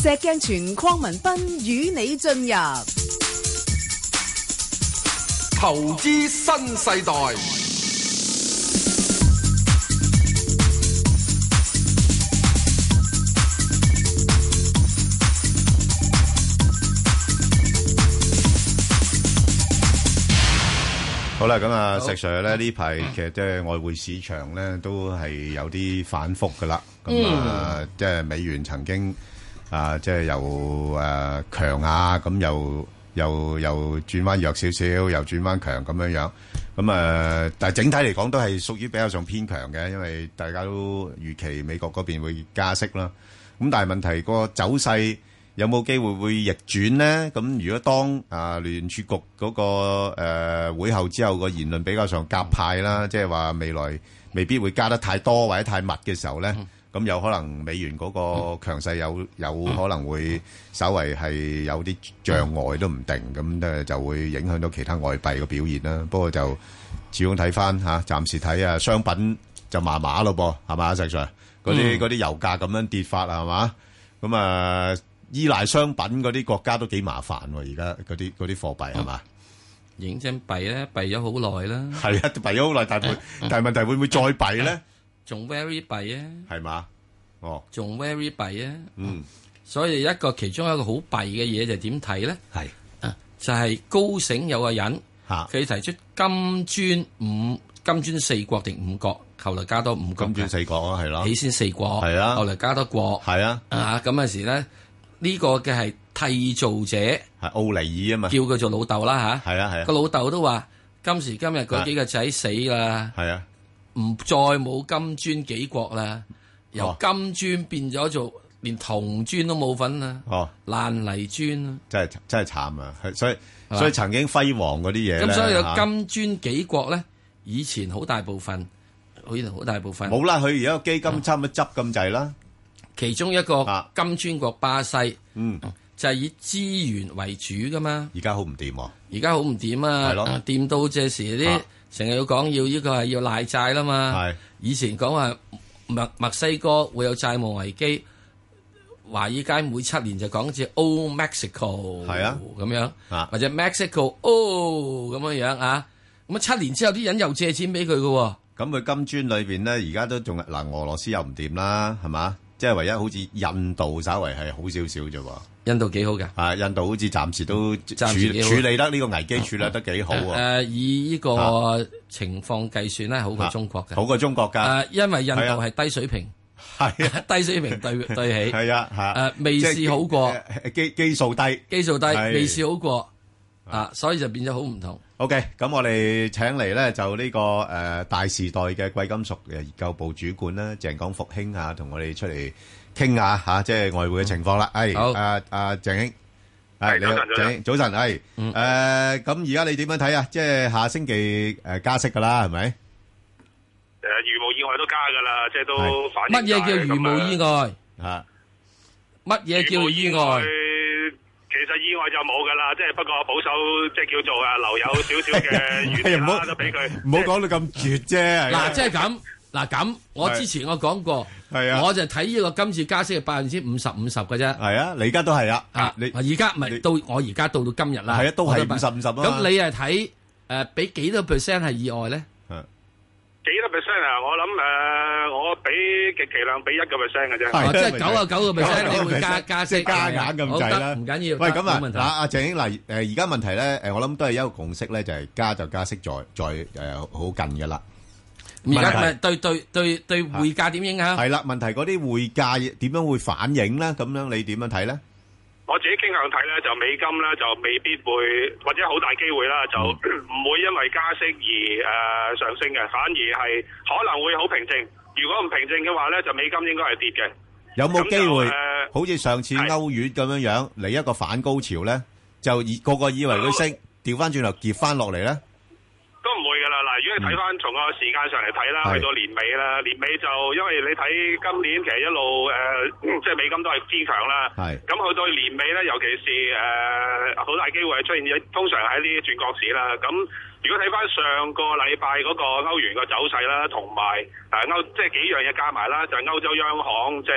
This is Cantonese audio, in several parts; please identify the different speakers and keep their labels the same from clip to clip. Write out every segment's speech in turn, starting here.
Speaker 1: 石鏡泉鄺民彬與你進入
Speaker 2: 投資新世代。
Speaker 3: 好啦，咁啊，石 Sir 咧呢排其實即係外匯市場咧都係有啲反覆噶啦。咁啊，即係美元曾經即係又強啊，咁又轉翻弱少少，又轉翻強咁樣樣。咁但係整體嚟講都係屬於比較上偏強嘅，因為大家都預期美國嗰邊會加息啦。咁但係問題個走勢有冇機會會逆轉咧？咁如果當聯儲局嗰個會後之後個言論比較上鴿派啦，即係話未來未必會加得太多或者太密嘅時候咧，咁有可能美元嗰個強勢有可能會稍為係有啲障礙都唔定，咁就會影響到其他外幣嘅表現啦。不過就始終睇翻暫時睇商品就麻麻咯噃，係嘛，石 Sir？嗰啲油價咁樣跌法係嘛？咁依賴商品嗰啲國家都幾麻煩喎，而家嗰啲貨幣係嘛？
Speaker 4: 認真幣咧，幣咗好耐啦。
Speaker 3: 係啊，幣咗好耐，但係問題會唔會再幣咧？
Speaker 4: 仲 very 幣啊？係
Speaker 3: 嘛？哦，
Speaker 4: 仲 very 幣啊？所以其中一個好弊嘅嘢就點睇咧？
Speaker 3: 係
Speaker 4: 就係高盛有個人佢提出金磚四國定五國，後來加多五國。
Speaker 3: 金磚四國啊，係咯。
Speaker 4: 起先四國，
Speaker 3: 係啊，
Speaker 4: 後來加多國，
Speaker 3: 係啊。
Speaker 4: 咁嗰時咧。呢個嘅係締造者，
Speaker 3: 係奧尼爾啊嘛，
Speaker 4: 叫佢做老豆啦嚇。
Speaker 3: 係啊係啊，
Speaker 4: 個老豆都話：今時今日嗰幾個仔死啦，
Speaker 3: 係啊，
Speaker 4: 唔再冇金磚幾國啦，由金磚變咗做連銅磚都冇份啦，爛泥磚啦，
Speaker 3: 真係慘啊！所以曾經輝煌嗰啲嘢
Speaker 4: 咁所以有金磚幾國咧，以前好大部分
Speaker 3: 冇啦，佢而家個基金差唔多執咁滯啦。
Speaker 4: 其中一個金磚國巴西，就係以資源為主噶嘛。
Speaker 3: 而家好唔掂喎！
Speaker 4: 而家好唔掂啊！掂到這時啲成日要講要呢個係要賴債啦嘛。以前講話墨西哥會有債務危機，華爾街每7年就講似 Oh Mexico 咁樣，或者 Mexico Oh 咁樣啊。咁7年之後啲人又借錢俾佢嘅。
Speaker 3: 咁佢金磚裏邊咧，而家都仲俄羅斯又唔掂啦，係嘛？即係唯一好似印度稍為係好少少啫喎。
Speaker 4: 印度幾好㗎？
Speaker 3: 印度好似暫時都處理得呢個危機處理得幾好喎。
Speaker 4: 以呢個情況計算咧，好過中國嘅。
Speaker 3: 好過中國㗎。因
Speaker 4: 為印度係低水平。係啊，低水平對起。
Speaker 3: 係啊，
Speaker 4: 未試好過。
Speaker 3: 基數低，
Speaker 4: 未試好過。所以就變咗好唔同。
Speaker 3: OK，咁我哋請嚟咧就呢個大時代嘅貴金屬研究部主管啦，鄭廣復兄同我哋出嚟傾下即係外匯嘅情況啦。
Speaker 4: 好，
Speaker 3: 鄭兄，你好，鄭兄，早晨，咁而家你點樣睇啊？即係下星期加息噶啦，係咪？
Speaker 5: 如無意外都加噶啦，即係都反映。
Speaker 4: 乜嘢叫如無意外？乜嘢叫意外？
Speaker 5: 其實意外就冇噶啦，即係不過保守，即係叫做留有少少嘅餘地啦，都俾佢。
Speaker 3: 唔好講到咁絕啫。
Speaker 4: 嗱，即係咁，我之前我講過，我就睇呢個今次加息係50%嘅啫。
Speaker 3: 係啊，你而家都係啊。
Speaker 4: 你而家唔係到我而家到今日啦。
Speaker 3: 係啊，都係50%咯。
Speaker 4: 咁你係睇俾幾多 percent 係意外咧？
Speaker 5: 幾多 percent 啊？我諗我俾極其量俾1%嘅啫。
Speaker 4: 即係99%你會加息
Speaker 3: 加硬咁滯啦。
Speaker 4: 唔緊要。
Speaker 3: 喂，咁
Speaker 4: 冇問題。
Speaker 3: 阿鄭兄嗱，而家問題咧，我諗都係一個共識咧，就係加息再好近嘅啦。
Speaker 4: 而家咪對匯價點影響？
Speaker 3: 係啦，問題嗰啲匯價點樣會反映咧？咁樣你點樣睇咧？
Speaker 5: 我自己傾向睇咧，就美金咧就未必會，或者好大機會啦，就唔會因為加息而上升嘅，反而係可能會好平靜。如果唔平靜嘅話咧，就美金應該係跌嘅。
Speaker 3: 有冇機會好似上次歐元咁樣嚟一個反高潮咧？就個個以為佢升，調翻轉頭跌翻落嚟咧？
Speaker 5: 都唔會㗎啦。嗱，如果你睇翻從個時間上嚟睇啦，去到年尾啦，年尾就因為你睇今年其實一路即係美金都係偏強啦。咁去到年尾咧，尤其是好大機會係出現通常喺呢啲轉角市啦。咁如果睇翻上個禮拜嗰個歐元個走勢啦，同埋即係幾樣嘢加埋啦，就係歐洲央行即係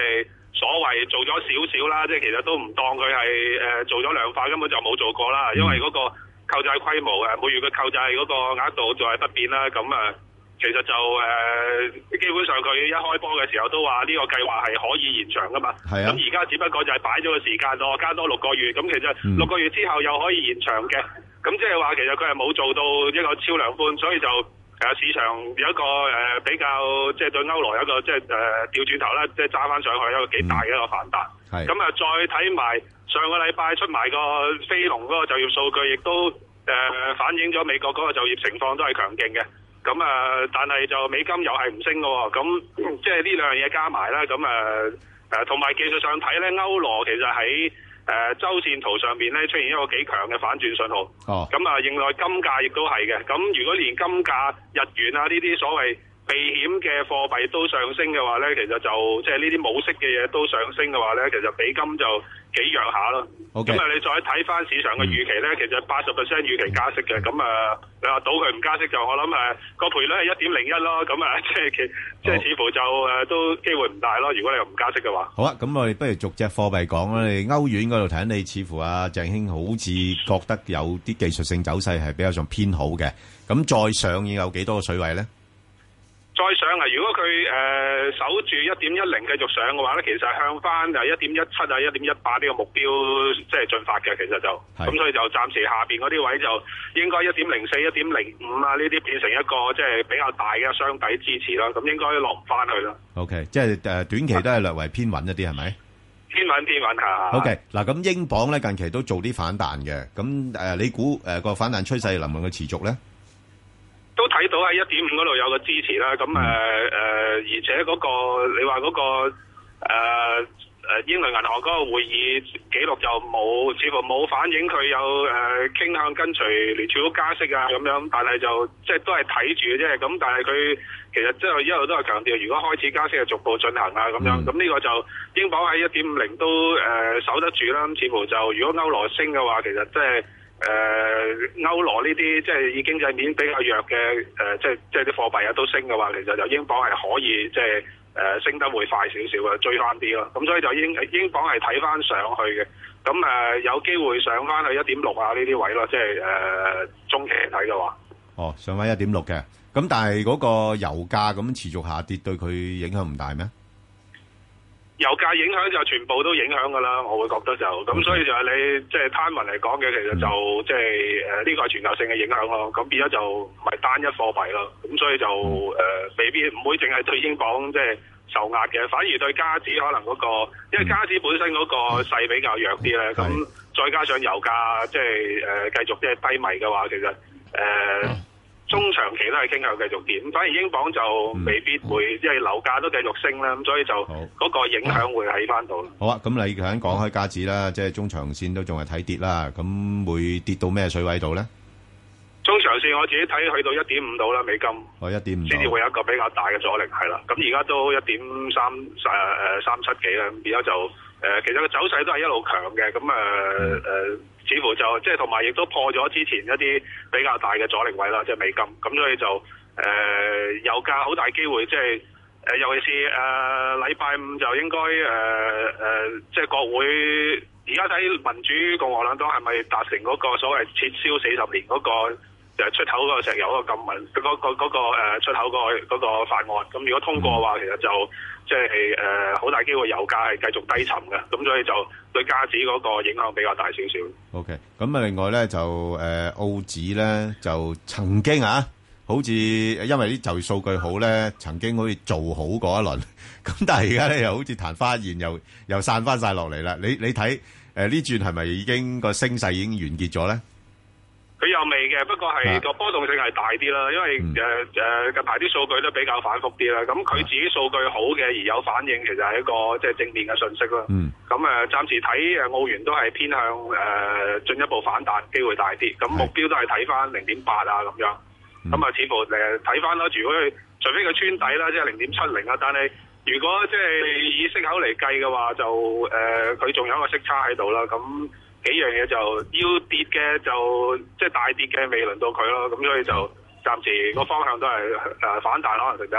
Speaker 5: 所謂做咗少少啦，即係其實都唔當佢係做咗量化，根本就冇做過啦。因為嗰個購債規模每月嘅購債嗰個額度就係不變啦。咁其實就基本上佢一開波嘅時候都話呢個計劃係可以延長噶嘛。係啊。咁而家只不過就係擺咗個時間咯，加多6個月。咁其實6個月之後又可以延長嘅。咁即係話其實佢係冇做到一個超量寬，所以就市場有一個比較即係對歐羅有一個即係調轉頭啦，即係揸翻上去一個幾大嘅一個反彈。咁再睇埋上個禮拜出埋個非農嗰個就業數據，亦都反映咗美國嗰個就業情況都係強勁嘅。咁但係就美金又係唔升嘅喎。咁即係呢兩樣嘢加埋啦。咁同埋技術上睇咧，歐羅其實喺周線圖上面咧出現一個幾強嘅反轉信號。咁另外金價亦都係嘅。咁如果連金價、日元啊呢啲所謂避險嘅貨幣都上升嘅話咧，其實就即係呢啲冇息嘅嘢都上升嘅話咧，其實美金就幾弱下咯。咁你再睇翻市場嘅預期咧，其實80% 預期加息嘅。咁你話賭佢唔加息就我諗個賠率係1.01咯。咁即係似乎就都機會唔大咯。如果你又唔加息嘅話。
Speaker 3: 好啊，咁我哋不如逐隻貨幣講啦。你歐元嗰度睇，你似乎鄭兄好似覺得有啲技術性走勢係比較上偏好嘅。咁再上要有幾多個水位咧？
Speaker 5: 再上如果佢守住1.10繼續上嘅話咧，其實向翻1.17啊、1.18呢個目標即係進發嘅，其實就咁，所以就暫時下邊嗰啲位就應該1.04、1.05啊呢啲變成一個即係比較大嘅雙底支持啦。咁應該落唔翻去啦。OK，
Speaker 3: 即係短期都係略為偏穩一啲，係咪？偏
Speaker 5: 穩下。
Speaker 3: OK， 嗱咁英鎊咧近期都做啲反彈嘅，咁你估個反彈趨勢能唔能夠持續咧？
Speaker 5: 都睇到喺1.5嗰度有個支持啦，咁而且嗰個你話嗰個英倫銀行嗰個會議記錄就冇，似乎冇反映佢有傾向跟隨聯儲局加息啊咁樣，但係就即係都係睇住嘅啫。咁但係佢其實即係一路都係強調，如果開始加息就逐步進行啊咁樣。咁呢個就英鎊喺1.50都守得住啦。咁似乎就如果歐羅升嘅話，其實即係。歐羅呢啲即係以經濟面比較弱嘅即係啲貨幣都升嘅話，其實就英鎊係可以即係升得會快少少嘅，追翻啲咯。咁所以就英鎊係睇翻上去嘅。咁有機會上翻去1.6啊呢啲位咯，即係中期嚟睇嘅話。
Speaker 3: 上翻1.6嘅。咁但係嗰個油價咁持續下跌，對佢影響唔大咩？
Speaker 5: 油價影響就全部都影響㗎啦，我會覺得就咁，所以就係你即係攤文嚟講嘅，其實就即係呢個係全球性嘅影響咯。咁變咗就唔係單一貨幣咯。咁所以就未必唔會淨係對英鎊即係受壓嘅，反而對加紙可能嗰個，因為加紙本身嗰個勢比較弱啲咧。咁再加上油價即係繼續即係低迷嘅話，其實中長期都係傾向繼續跌，反而英鎊就未必會，因為樓價都繼續升啦，咁所以就嗰個影響會喺翻度。好啊，咁你頭先講開加紙啦，即係中長線都仲係睇跌啦，咁會跌到咩水位度咧？中長線我自己睇去到1.5度啦，美金。1.5。先至會有一個比較大嘅阻力，係啦。咁而家都1.37幾啦，咁而家就其實個走勢都係一路強嘅，咁似乎就即係同埋亦都破咗之前一啲比較大嘅阻力位啦，即係美金。咁所以就油價好大機會，即係尤其是禮拜五就應該即係國會而家睇民主共和兩黨係咪達成嗰個所謂撤銷40年嗰個出口嗰個石油嗰個禁運嗰個出口嗰個法案。咁如果通過嘅話，其實就即係好大機會油價係繼續低沉嘅，咁所以就對加紙嗰個影響比較大少少。OK， 咁另外咧就澳紙咧就曾經好似因為啲就業數據好咧，曾經好似做好過一輪，咁但係而家咧又好似曇花一現，又散翻晒落嚟啦。你睇呢轉係咪已經個升勢已經完結咗咧？佢又未嘅，不過係個波動性係大啲啦，因為近排啲數據都比較反覆啲啦。咁佢自己數據好嘅而有反應，其實係一個即係正面嘅訊息啦。咁暫時睇澳元都係偏向進一步反彈機會大啲。咁目標都係睇翻0.8啊咁樣。咁似乎睇翻啦，如果除非佢穿底啦，即係0.70啊，但係如果即係以息口嚟計嘅話，就佢仲有一個息差喺度啦。咁幾樣嘢就要跌嘅就即係大跌嘅未輪到佢咯，咁所以就暫時個方向都係反彈可能性比較大。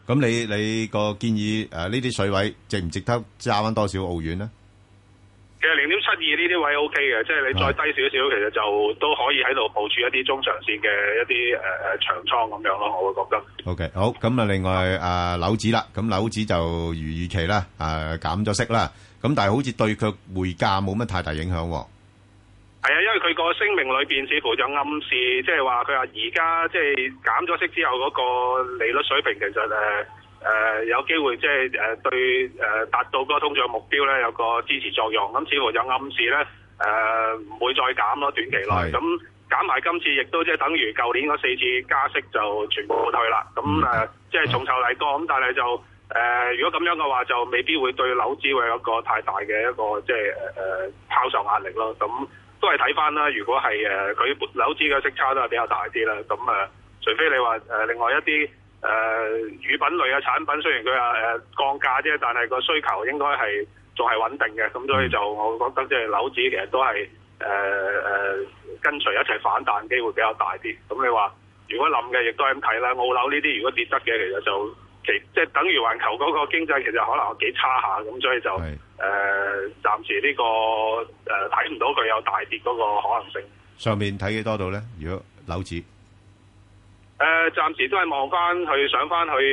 Speaker 3: 咁你個建議呢啲水位值唔值得揸翻多少澳元咧？
Speaker 5: 其實0.72呢啲位 OK 嘅，即係你再低少少，其實就都可以喺度部署一啲中長線嘅一啲長倉咁樣咯，我會覺得。
Speaker 3: OK， 好，咁啊，另外樓指啦，咁樓指就如預期啦，減咗息啦，咁但係好似對佢匯價冇乜太大影響喎。
Speaker 5: 係啊，因為佢個聲明裏邊似乎就暗示，即係話佢話而家即係減咗息之後嗰個利率水平，其實有機會即係對達到嗰個通脹目標咧有個支持作用。咁似乎就暗示咧唔會再減咯，短期內。咁減埋今次亦都即係等於舊年嗰4次加息就全部退啦。咁即係重酬嚟過。咁但係就如果咁樣嘅話，就未必會對樓指會有一個太大嘅一個即係拋售壓力咯。咁都係睇翻啦。如果係佢樓指嘅息差都係比較大啲啦。咁除非你話另外一啲乳品類嘅產品，雖然佢話降價啫，但係個需求應該係仲係穩定嘅。咁所以就我覺得即係樓指其實都係跟隨一齊反彈機會比較大啲。咁你話如果冧嘅，亦都係咁睇啦。澳樓呢啲如果跌得嘅，其實就即係等於環球嗰個經濟其實可能幾差下。咁所以就暫時呢個睇唔到佢有大跌嗰個可能性。
Speaker 3: 上面睇幾多度咧？如果樓指？
Speaker 5: 暫時都係望翻去上翻去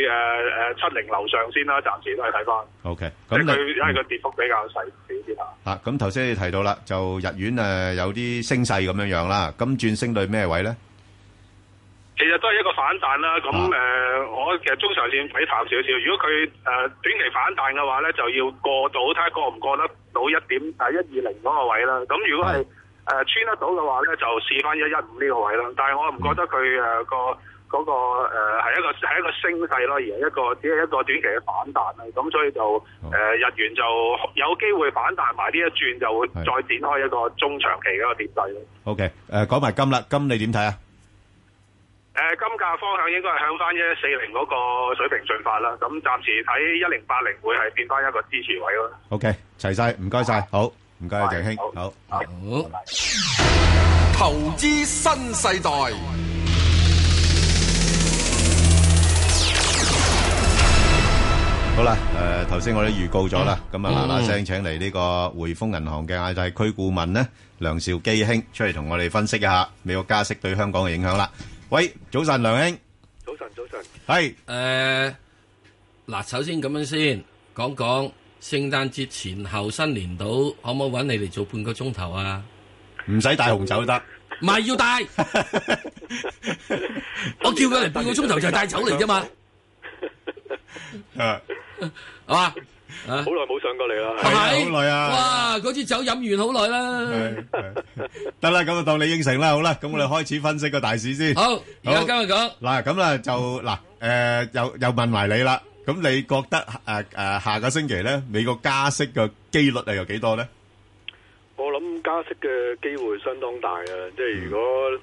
Speaker 5: 70樓上先啦，暫時都係睇翻。
Speaker 3: OK，
Speaker 5: 咁佢因為個跌幅比較細少啲啦。
Speaker 3: 咁頭先你提到啦，就日元有啲升勢咁樣啦，咁轉升到咩位咧？
Speaker 5: 其實都係一個反彈啦。咁我其實中長線睇淡少少。如果佢短期反彈嘅話咧，就要過到睇下過唔過得到1.120嗰個位啦。咁如果係穿得到嘅話咧，就試翻115呢個位啦。但係我唔覺得佢嗰個係一個升勢咯，而係只係一個短期嘅反彈啦。咁所以就日元就有機會反彈埋呢一轉，就會再展開一個中長期嘅一個跌勢咯。
Speaker 3: OK， 講埋金啦，金你點睇啊？
Speaker 5: 金價方向應該係向翻1140嗰個水平進發啦。咁暫時睇1080會係變翻一個支持位咯。
Speaker 3: OK， 齊晒，唔該晒，好，唔該鄭兄，好。
Speaker 2: 投資新世代。
Speaker 3: 好啦，頭先我哋預告咗啦，咁啊嗱聲請嚟呢個匯豐銀行嘅亞太區顧問咧梁兆基兄出嚟同我哋分析一下美國加息對香港嘅影響啦。喂，早晨，梁兄。
Speaker 6: 早晨。
Speaker 3: 係。
Speaker 4: 嗱，首先咁樣先講講聖誕節前後新年度，可唔可以揾你嚟做半個鐘頭啊？
Speaker 3: 唔使帶紅酒都得。
Speaker 4: 唔係要帶。我叫佢嚟半個鐘頭就係帶酒嚟啫嘛。係嘛？
Speaker 6: 好耐冇上過嚟啦，
Speaker 4: 係
Speaker 3: 好耐啊！
Speaker 4: 哇，嗰支酒飲完好耐啦。
Speaker 3: 得啦，咁就當你應承啦，好啦，咁我哋開始分析個大市先。
Speaker 4: 好，而家今日講
Speaker 3: 嗱，咁啦就又問埋你啦。咁你覺得下個星期咧，美國加息嘅機率係有幾多咧？
Speaker 6: 我諗加息嘅機會相當大啊！即係如果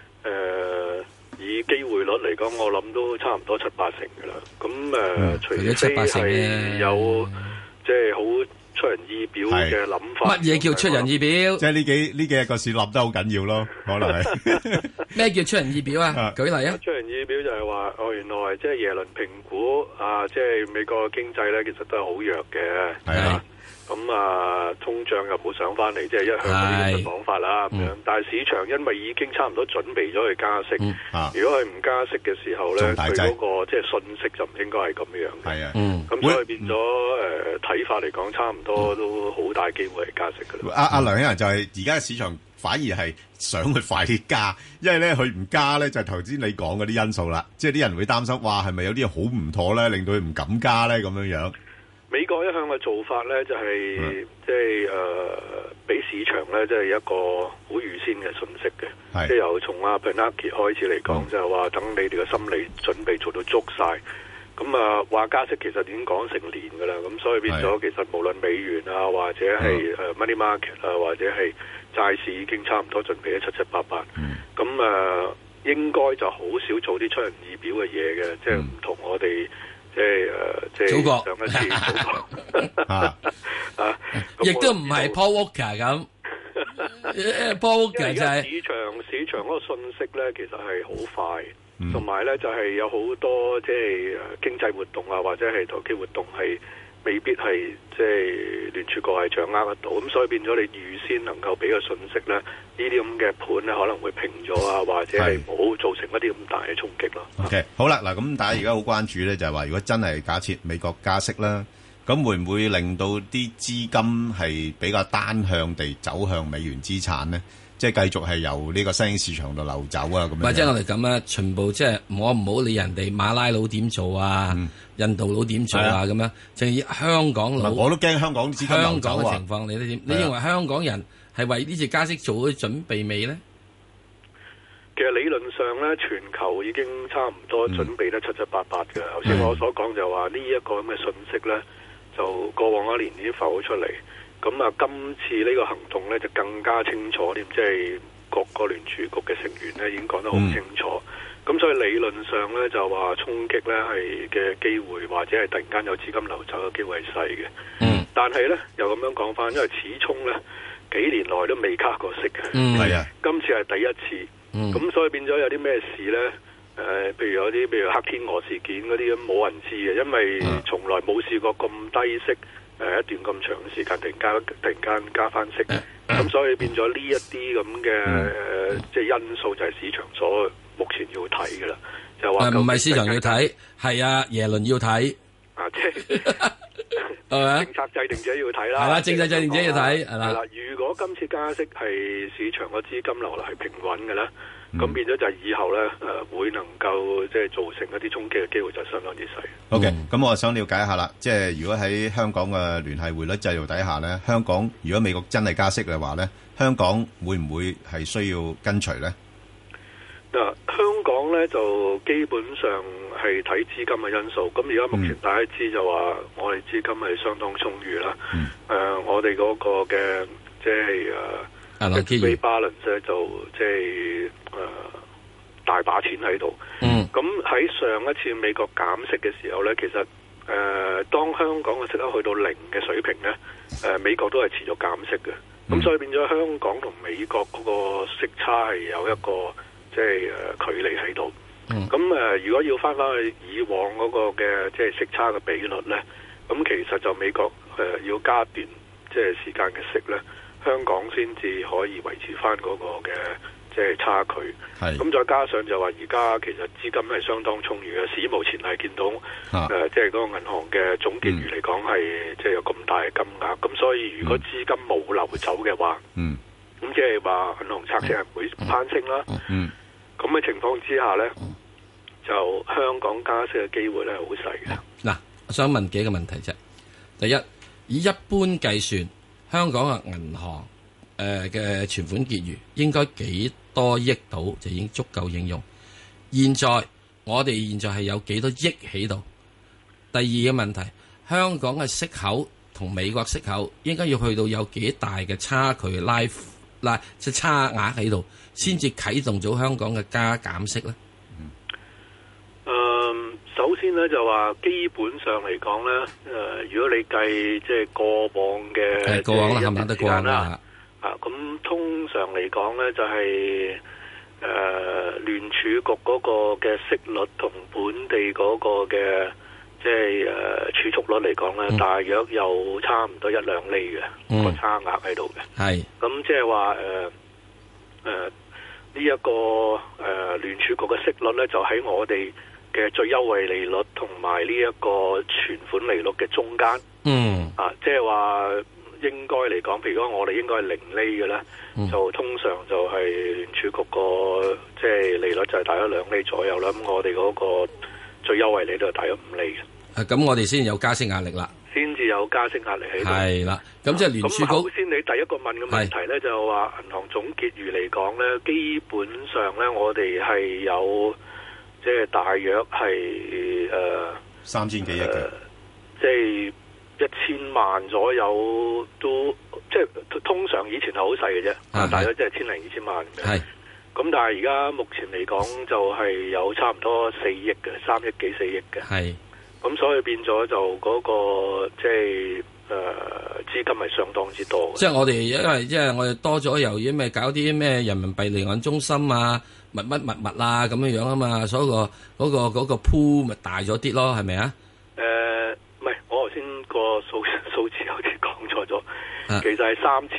Speaker 6: 以機會率嚟講，我諗都差唔多7-8成噶啦。咁除非係有即係好出人意表嘅諗法。
Speaker 4: 乜嘢叫出人意表？
Speaker 3: 即係呢幾日個市立得好緊要咯，可能係。
Speaker 4: 咩叫出人意表啊？舉例啊！
Speaker 6: 出人意表就係話，原來即係耶倫評估即係美國經濟咧，其實都係好弱嘅。係啊。咁通脹又冇上翻嚟，即係一向嗰啲咁嘅講法啦。咁樣，但係市場因為已經差唔多準備咗去加息，如果佢唔加息嘅時候咧，佢嗰個即係信息就唔應該係咁樣嘅。係啊，咁所以變咗睇法嚟講，差唔多都好大機會係加息㗎啦。
Speaker 3: 阿梁生就係而家嘅市場反而係想去快啲加，因為咧佢唔加咧就係頭先你講嗰啲因素啦，即係啲人會擔心，哇係咪有啲嘢好唔妥咧，令到佢唔敢加咧咁樣樣。
Speaker 6: 美國一向嘅做法咧，就係即係俾市場咧，即係一個好預先嘅信息嘅，即係由從阿 Bernanke 開始嚟講，就係話等你哋嘅心理準備做到足晒。咁話加息其實已經講成年㗎啦，咁所以變咗其實無論美元啊，或者係money market 啊，或者係債市已經差唔多準備得七七八八。咁應該就好少做啲出人意表嘅嘢嘅，即係唔同我哋。即係
Speaker 4: 祖國
Speaker 6: 上一次
Speaker 4: 亦都唔係 Paul Walker 咁。Paul Walker 就係
Speaker 6: 市場嗰個信息咧，其實係好快， 同埋咧就係有好多即係經濟活動啊，或者係投機活動係未必係即係聯儲局係掌握得到，咁所以變咗你預先能夠俾個信息咧，呢啲咁嘅盤咧可能會平咗啊，或者係冇造成一啲咁大嘅衝擊咯。
Speaker 3: OK， 好啦，嗱咁大家而家好關注咧，就係話如果真係假設美國加息啦，咁會唔會令到啲資金係比較單向地走向美元資產咧？即係繼續係由呢個新興市場度流走啊，咁樣。或者我哋咁啊，全部即係我唔好理人哋馬拉佬點做啊，印度佬點做啊，咁樣，淨係香港佬。我都驚香港資金流走啊。香港嘅情況，你都點？你認為香港人係為呢次加息做咗準備未咧？
Speaker 6: 其實理論上咧，全球已經差唔多準備得七七八八嘅。頭先我所講就話呢一個咁嘅信息咧，就過往一年已經浮咗出嚟。咁啊，今次呢個行動咧就更加清楚啲，即係各個聯儲局嘅成員咧已經講得好清楚。咁所以理論上咧就話衝擊咧係嘅機會，或者係突然間有資金流走嘅機會係細嘅。但係咧又咁樣講翻，因為始終咧幾年內都未加過息嘅。係啊，今次係第一次。咁所以變咗有啲咩事咧？譬如有啲譬如黑天鵝事件嗰啲咁冇人知嘅，因為從來冇試過咁低息。一段咁長嘅時間突然間加翻息，咁所以變咗呢一啲咁嘅即係因素就係市場所目前要睇嘅啦，就話唔係市場要睇，係啊耶倫要睇啊，即係政策制定者要睇啦，係啦，政策制定者要睇係啦。如果今次加息係市場個資金流係平穩嘅咧，咁變咗就係以後咧會能夠即係造成一啲衝擊嘅機會就相當之細。OK， 咁我想了解一下啦，即係如果喺香港嘅聯繫匯率制度底下咧，香港如果美國真係加息嘅話咧，香港會唔會係需要跟隨咧？嗱，香港咧就基本上係睇資金嘅因素。咁而家目前大家知就話我哋資金係相當充裕啦。我哋嗰個嘅即係balance 咧就即係大把錢喺度。咁喺上一次美國減息嘅時候咧，其實當香港嘅息口去到0嘅水平咧，美國都係持續減息嘅。咁所以變咗香港同美國嗰個息差係有一個即係距離喺度。咁如果要翻去以往嗰個嘅即係息差嘅比率咧，咁其實就美國要加段即係時間嘅息咧，香港先至可以維持翻嗰個嘅即係差距。咁再加上就話而家其實資金係相當充裕嘅，史無前例見到即係嗰個銀行嘅總結餘嚟講係即係有咁大嘅金額。咁所以如果資金冇流走嘅話，咁即係話銀行拆息係會攀升啦。咁嘅情況之下咧，就香港加息嘅機會咧係好細嘅。
Speaker 4: 嗱，我想問幾個問題啫。第一，以一般計算，香港嘅銀行嘅存款結餘應該幾多億度就已經足夠應用？我哋現在係有幾多億喺度？第二個問題，香港嘅息口同美國息口應該要去到有幾大嘅差距即係差額喺度，先至啟動咗香港嘅加減息咧？
Speaker 6: 首先咧就話基本上嚟講咧，如果你計即係過往嘅過往啦，係咪得過往啦？咁通常嚟講咧就係聯儲局嗰個嘅息率同本地嗰個嘅即係儲蓄率嚟講咧，大約有差唔多1-2厘嘅個差額喺度嘅。係咁即係話呢一個聯儲局嘅息率咧，就喺我哋嘅最優惠利率同埋呢一個存款利率嘅中間。即係話應該嚟講，譬如講我哋應該係0厘嘅咧，就通常就係聯儲局個即係利率就係大約2厘左右啦。咁我哋嗰個最優惠利率係大約5厘嘅。咁我哋先有加息壓力啦，先至有加息壓力喺度。係啦，咁即係聯儲局。咁頭先你第一個問嘅問題咧，就話銀行總結餘嚟講咧，基本上咧我哋係有即係大約係3000幾億嘅，即係1000萬左右都即係通常以前係好細嘅啫，大約即係1000零2000萬嘅。係咁，但係而家目前嚟講就係有差唔多4億嘅，3億幾4億嘅。係咁，所以變咗就嗰個即係資金係相當之多嘅。
Speaker 4: 即係我哋因為即係我哋多咗由於咩搞啲咩人民幣離岸中心啊、物啊咁樣樣啊嘛，所以嗰個鋪咪大咗啲咯，係咪啊？
Speaker 6: 唔係，我頭先個數字有啲講錯咗，其實係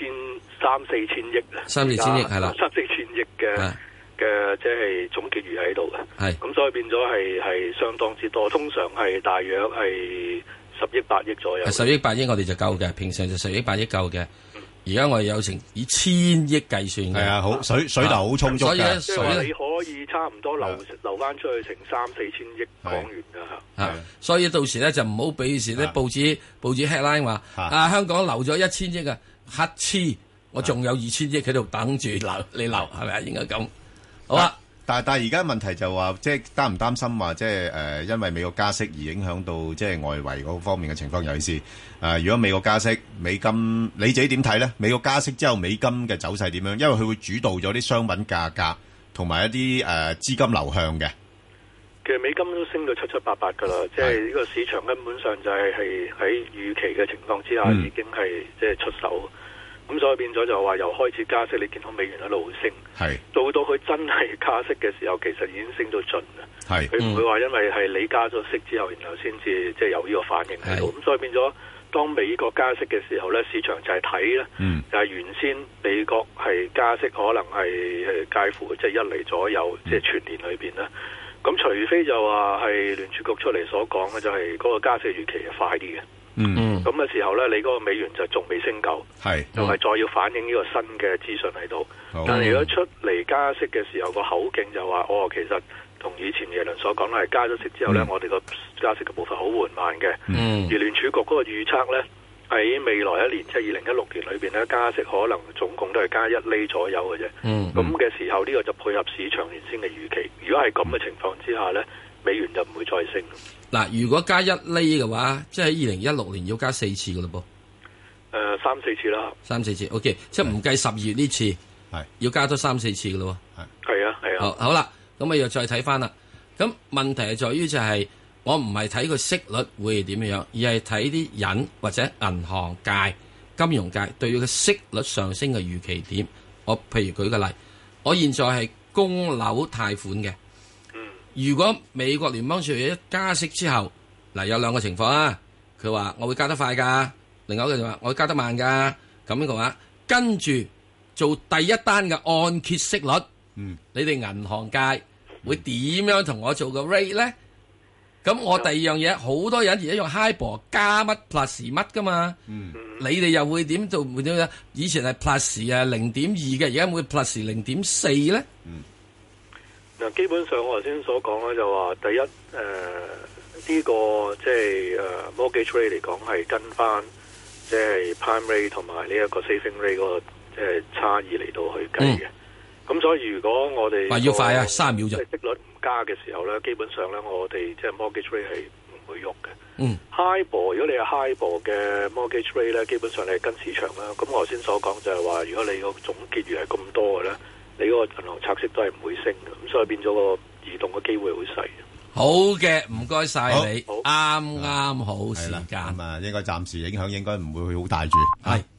Speaker 6: 3,4千億啊
Speaker 4: ，3-4千億係啦
Speaker 6: ，3-4千億嘅即係總結餘喺度嘅。
Speaker 4: 係咁，
Speaker 6: 所以變咗係相當之多，通常係大約係10億8億左右。
Speaker 4: 10億8億我哋就夠嘅，平常就10億8億夠嘅。而家我哋有成以千億計算嘅，
Speaker 3: 係啊，好水流好充足嘅，
Speaker 6: 所以你可以差唔多流翻出去成3-4千億港元㗎嚇。
Speaker 4: 所以到時咧就唔好俾時咧報紙 headline 話香港流咗1000億啊，乞嗤，我仲有2000億喺度等住流，你流係咪啊？應該咁好啊。
Speaker 3: 但係而家問題就話，即係擔唔擔心話，即係因為美國加息而影響到即係外圍嗰方面嘅情況，尤其是如果美國加息，美金你自己點睇咧？美國加息之後，美金嘅走勢點樣？因為佢會主導咗啲商品價格同埋一啲資金流向嘅。
Speaker 6: 其實美金都升到七七八八㗎啦，即係呢個市場根本上就係喺預期嘅情況之下已經係即係出手。咁所以變咗就話由開始加息，你見到美元一路升，到佢真係加息嘅時候，其實已經升到盡啦。佢唔會話因為係你加咗息之後，然後先至即係有呢個反應喺度。咁所以變咗，當美國加息嘅時候咧，市場就係睇咧，就係原先美國係加息可能係介乎即係1厘左右，即係全年裏邊啦。咁除非就話係聯儲局出嚟所講嘅，就係嗰個加息預期係快啲嘅。咁嘅時候咧，你嗰個美元就仲未升夠，就係再要反映呢個新嘅資訊喺度。但係如果出嚟加息嘅時候，個口徑就話其實同以前耶倫所講係加咗息之後咧，我哋個加息嘅步伐好緩慢嘅。而聯儲局嗰個預測咧，喺未來一年即係2016年裏邊咧，加息可能總共都係加1厘左右嘅啫。咁嘅時候呢個就配合市場原先嘅預期。如果係咁嘅情況之下咧，美元就唔會再升。
Speaker 4: 嗱，如果加1厘嘅話，即係喺2016年要加4次嘅咯
Speaker 6: 噃。3-4次啦。3-4
Speaker 4: 次 ，OK， 即係唔計10月呢次，係要加多3-4次嘅咯。
Speaker 6: 係啊。
Speaker 4: 好啦，咁啊又再睇翻啦。咁問題係在於就係我唔係睇個息率會係點樣，而係睇啲人或者銀行界、金融界對佢嘅息率上升嘅預期點。我譬如舉個例，我現在係供樓貸款嘅。如果美國聯邦儲備一加息之後，嗱有兩個情況啊，佢話我會加得快噶，另外一個就話我會加得慢噶，咁樣嘅話，跟住做第一單嘅按揭息率，你哋銀行界會點樣同我做個 rate 咧？咁我第二樣嘢，好多人而家用 HIBOR 加乜 plus 乜噶嘛，你哋又會點做？會點樣？以前係 plus 0.2嘅，而家會 plus 0.4咧？
Speaker 6: 嗱，基本上我頭先所講咧，就話第一呢個即係mortgage rate 嚟講係跟翻即係 prime rate 同埋呢一個 saving rate 嗰個即係差異嚟到去計嘅。咁所以如果我哋
Speaker 4: 話要快啊，3秒啫。
Speaker 6: 息率唔加嘅時候咧，基本上咧我哋即係 mortgage rate 係唔會喐嘅。HIBOR 如果你係 HIBOR 嘅 mortgage rate 咧，基本上你係跟市場啦。咁我頭先所講就係話，如果你個總結餘係咁多嘅咧，你嗰個銀行拆息都係唔會升嘅，咁所以變咗個移動嘅機會好細。
Speaker 4: 好嘅，唔該晒你，啱好時間。
Speaker 3: 應該暫時影響應該唔會好大住。係。